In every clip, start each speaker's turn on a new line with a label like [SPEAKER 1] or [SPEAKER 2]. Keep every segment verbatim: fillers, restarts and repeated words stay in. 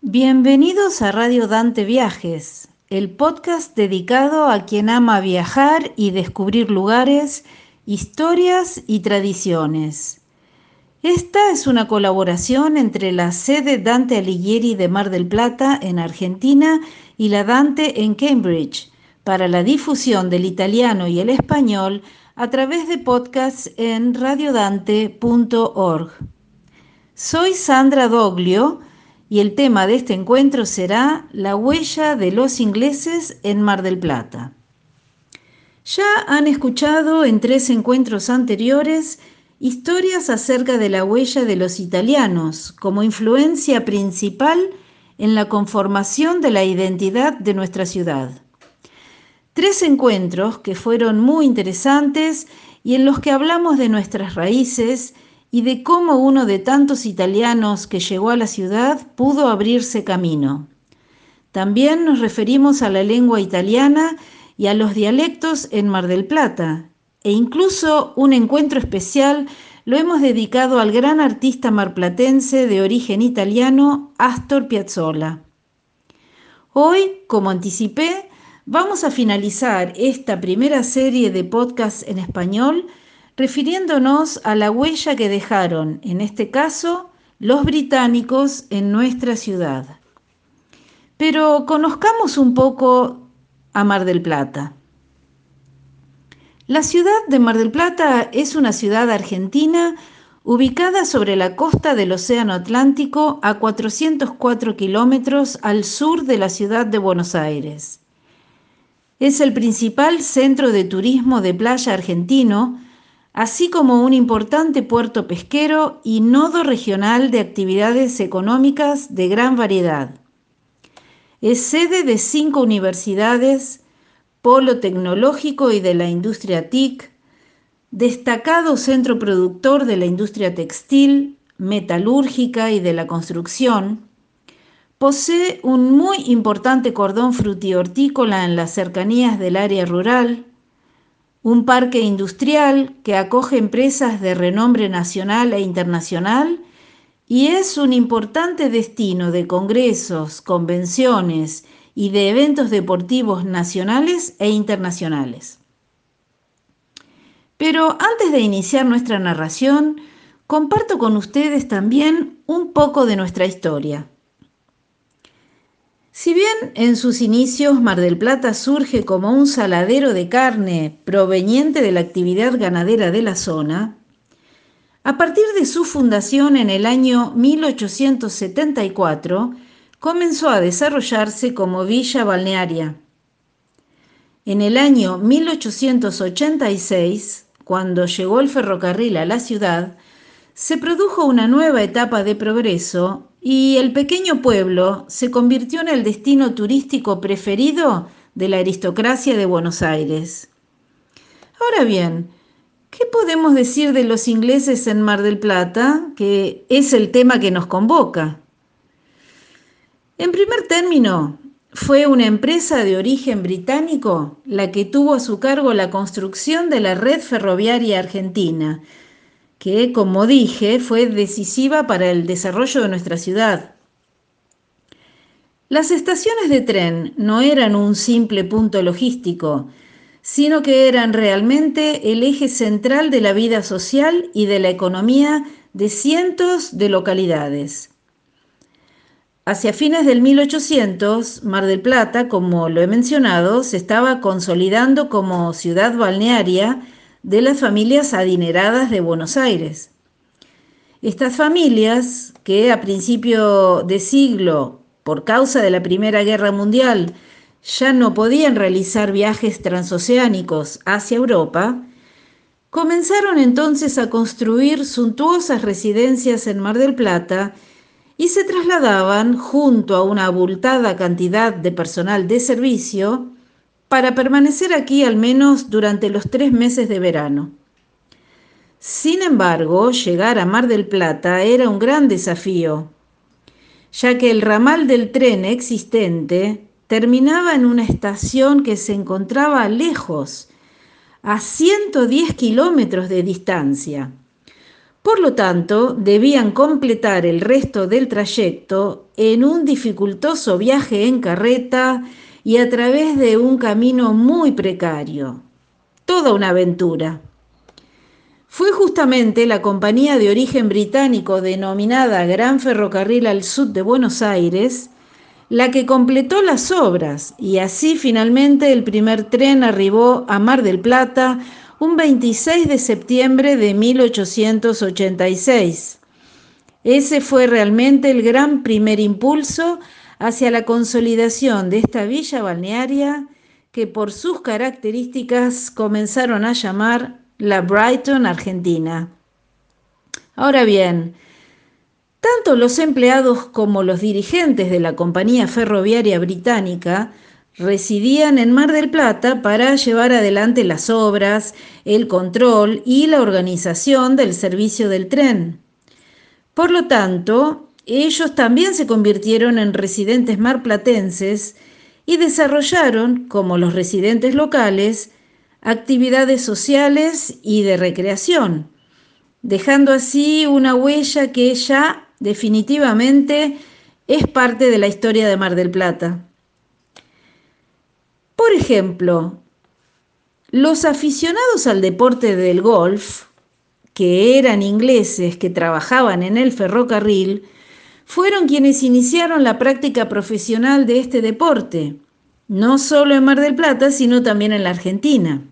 [SPEAKER 1] Bienvenidos a Radio Dante Viajes, el podcast dedicado a quien ama viajar y descubrir lugares, historias y tradiciones. Esta es una colaboración entre la sede Dante Alighieri de Mar del Plata en Argentina y la Dante en Cambridge, para la difusión del italiano y el español a través de podcasts en radiodante punto org. Soy Sandra Doglio y el tema de este encuentro será la huella de los ingleses en Mar del Plata. Ya han escuchado en tres encuentros anteriores historias acerca de la huella de los italianos como influencia principal en la conformación de la identidad de nuestra ciudad. Tres encuentros que fueron muy interesantes y en los que hablamos de nuestras raíces y de cómo uno de tantos italianos que llegó a la ciudad pudo abrirse camino. También nos referimos a la lengua italiana y a los dialectos en Mar del Plata, e incluso un encuentro especial lo hemos dedicado al gran artista marplatense de origen italiano Astor Piazzolla. Hoy, como anticipé, vamos a finalizar esta primera serie de podcasts en español refiriéndonos a la huella que dejaron, en este caso, los británicos en nuestra ciudad. Pero conozcamos un poco a Mar del Plata. La ciudad de Mar del Plata es una ciudad argentina ubicada sobre la costa del Océano Atlántico a cuatrocientos cuatro kilómetros al sur de la ciudad de Buenos Aires. Es el principal centro de turismo de playa argentino, así como un importante puerto pesquero y nodo regional de actividades económicas de gran variedad. Es sede de cinco universidades, polo tecnológico y de la industria T I C, destacado centro productor de la industria textil, metalúrgica y de la construcción. Posee un muy importante cordón frutihortícola en las cercanías del área rural, un parque industrial que acoge empresas de renombre nacional e internacional y es un importante destino de congresos, convenciones y de eventos deportivos nacionales e internacionales. Pero antes de iniciar nuestra narración, comparto con ustedes también un poco de nuestra historia. Si bien en sus inicios Mar del Plata surge como un saladero de carne proveniente de la actividad ganadera de la zona, a partir de su fundación en el año mil ochocientos setenta y cuatro comenzó a desarrollarse como villa balnearia. En el año mil ochocientos ochenta y seis, cuando llegó el ferrocarril a la ciudad, se produjo una nueva etapa de progreso y el pequeño pueblo se convirtió en el destino turístico preferido de la aristocracia de Buenos Aires. Ahora bien, ¿qué podemos decir de los ingleses en Mar del Plata, que es el tema que nos convoca? En primer término, fue una empresa de origen británico la que tuvo a su cargo la construcción de la red ferroviaria argentina, que, como dije, fue decisiva para el desarrollo de nuestra ciudad. Las estaciones de tren no eran un simple punto logístico, sino que eran realmente el eje central de la vida social y de la economía de cientos de localidades. Hacia fines del mil ochocientos, Mar del Plata, como lo he mencionado, se estaba consolidando como ciudad balnearia de las familias adineradas de Buenos Aires. Estas familias, que a principio de siglo, por causa de la Primera Guerra Mundial, ya no podían realizar viajes transoceánicos hacia Europa, comenzaron entonces a construir suntuosas residencias en Mar del Plata y se trasladaban junto a una abultada cantidad de personal de servicio para permanecer aquí al menos durante los tres meses de verano. Sin embargo, llegar a Mar del Plata era un gran desafío, ya que el ramal del tren existente terminaba en una estación que se encontraba lejos, a ciento diez kilómetros de distancia, Por lo tanto, debían completar el resto del trayecto en un dificultoso viaje en carreta y a través de un camino muy precario. Toda una aventura. Fue justamente la compañía de origen británico denominada Gran Ferrocarril al Sud de Buenos Aires la que completó las obras y así finalmente el primer tren arribó a Mar del Plata un veintiséis de septiembre de mil ochocientos ochenta y seis. Ese fue realmente el gran primer impulso hacia la consolidación de esta villa balnearia que por sus características comenzaron a llamar la Brighton Argentina. Ahora bien, tanto los empleados como los dirigentes de la compañía ferroviaria británica residían en Mar del Plata para llevar adelante las obras, el control y la organización del servicio del tren. Por lo tanto, ellos también se convirtieron en residentes marplatenses y desarrollaron, como los residentes locales, actividades sociales y de recreación, dejando así una huella que ya definitivamente es parte de la historia de Mar del Plata. Por ejemplo, los aficionados al deporte del golf, que eran ingleses que trabajaban en el ferrocarril, fueron quienes iniciaron la práctica profesional de este deporte, no solo en Mar del Plata, sino también en la Argentina.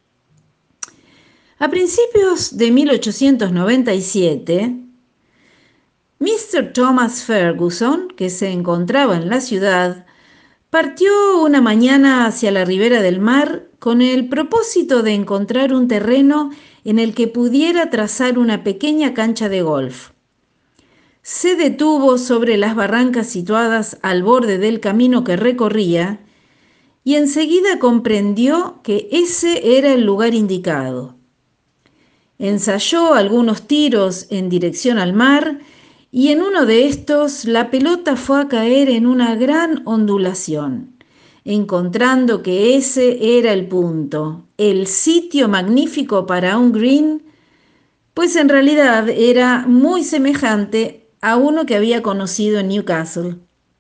[SPEAKER 1] A principios de mil ochocientos noventa y siete, mister Thomas Ferguson, que se encontraba en la ciudad, partió una mañana hacia la ribera del mar con el propósito de encontrar un terreno en el que pudiera trazar una pequeña cancha de golf. Se detuvo sobre las barrancas situadas al borde del camino que recorría y enseguida comprendió que ese era el lugar indicado. Ensayó algunos tiros en dirección al mar y en uno de estos la pelota fue a caer en una gran ondulación, encontrando que ese era el punto, el sitio magnífico para un green, pues en realidad era muy semejante a uno que había conocido en Newcastle.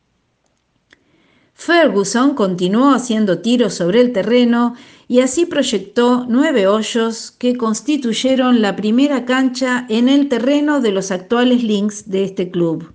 [SPEAKER 1] Ferguson continuó haciendo tiros sobre el terreno y así proyectó nueve hoyos que constituyeron la primera cancha en el terreno de los actuales links de este club.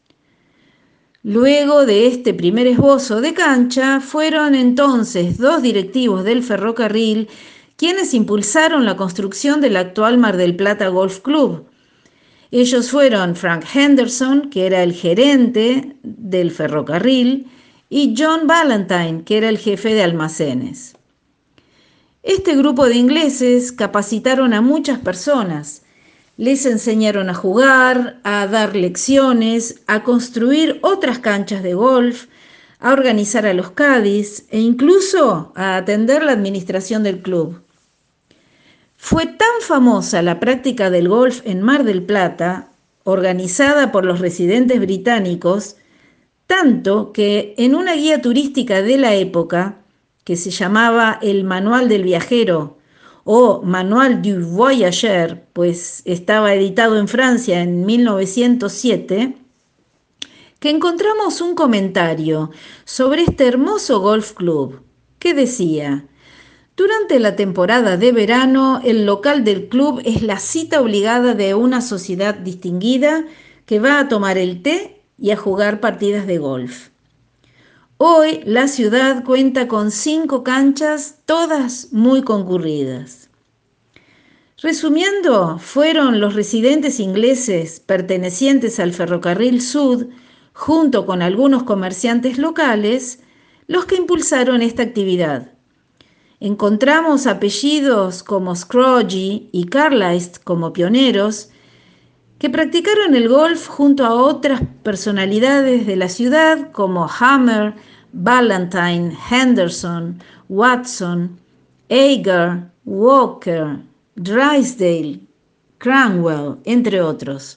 [SPEAKER 1] Luego de este primer esbozo de cancha, fueron entonces dos directivos del ferrocarril quienes impulsaron la construcción del actual Mar del Plata Golf Club. Ellos fueron Frank Henderson, que era el gerente del ferrocarril, y John Ballantyne, que era el jefe de almacenes. Este grupo de ingleses capacitaron a muchas personas, les enseñaron a jugar, a dar lecciones, a construir otras canchas de golf, a organizar a los caddies e incluso a atender la administración del club. Fue tan famosa la práctica del golf en Mar del Plata, organizada por los residentes británicos, tanto que en una guía turística de la época, que se llamaba el Manual del Viajero o Manual du Voyageur, pues estaba editado en Francia en mil novecientos siete, que encontramos un comentario sobre este hermoso golf club que decía: durante la temporada de verano, el local del club es la cita obligada de una sociedad distinguida que va a tomar el té y a jugar partidas de golf. Hoy la ciudad cuenta con cinco canchas, todas muy concurridas. Resumiendo, fueron los residentes ingleses pertenecientes al Ferrocarril Sud, junto con algunos comerciantes locales, los que impulsaron esta actividad. Encontramos apellidos como Scroggie y Carlisle como pioneros, que practicaron el golf junto a otras personalidades de la ciudad como Hammer, Ballantyne, Henderson, Watson, Agar, Walker, Drysdale, Cranwell, entre otros.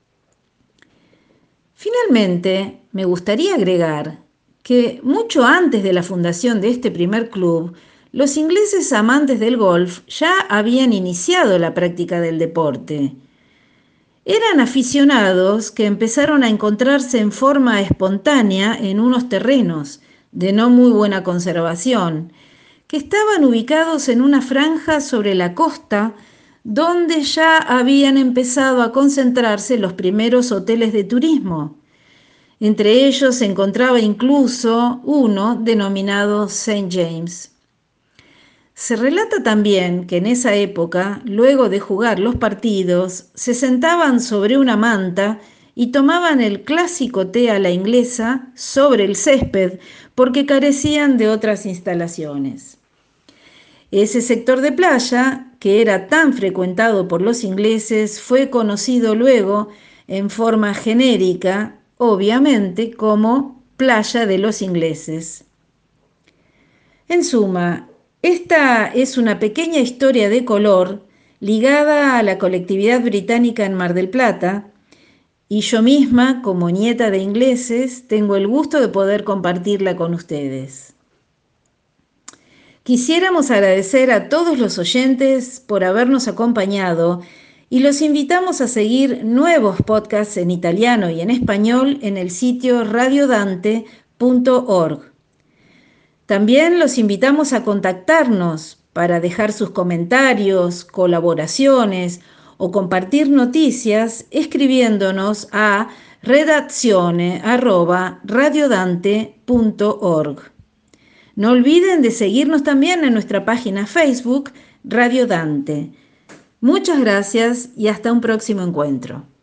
[SPEAKER 1] Finalmente, me gustaría agregar que mucho antes de la fundación de este primer club, los ingleses amantes del golf ya habían iniciado la práctica del deporte. Eran aficionados que empezaron a encontrarse en forma espontánea en unos terrenos de no muy buena conservación, que estaban ubicados en una franja sobre la costa donde ya habían empezado a concentrarse los primeros hoteles de turismo. Entre ellos se encontraba incluso uno denominado Saint James. Se relata también que en esa época, luego de jugar los partidos, se sentaban sobre una manta y tomaban el clásico té a la inglesa sobre el césped porque carecían de otras instalaciones. Ese sector de playa, que era tan frecuentado por los ingleses, fue conocido luego en forma genérica, obviamente, como Playa de los Ingleses. En suma, esta es una pequeña historia de color ligada a la colectividad británica en Mar del Plata, y yo misma, como nieta de ingleses, tengo el gusto de poder compartirla con ustedes. Quisiéramos agradecer a todos los oyentes por habernos acompañado y los invitamos a seguir nuevos podcasts en italiano y en español en el sitio radio dante punto org. También los invitamos a contactarnos para dejar sus comentarios, colaboraciones o compartir noticias escribiéndonos a redazione arroba radiodante punto org. No olviden de seguirnos también en nuestra página Facebook Radio Dante. Muchas gracias y hasta un próximo encuentro.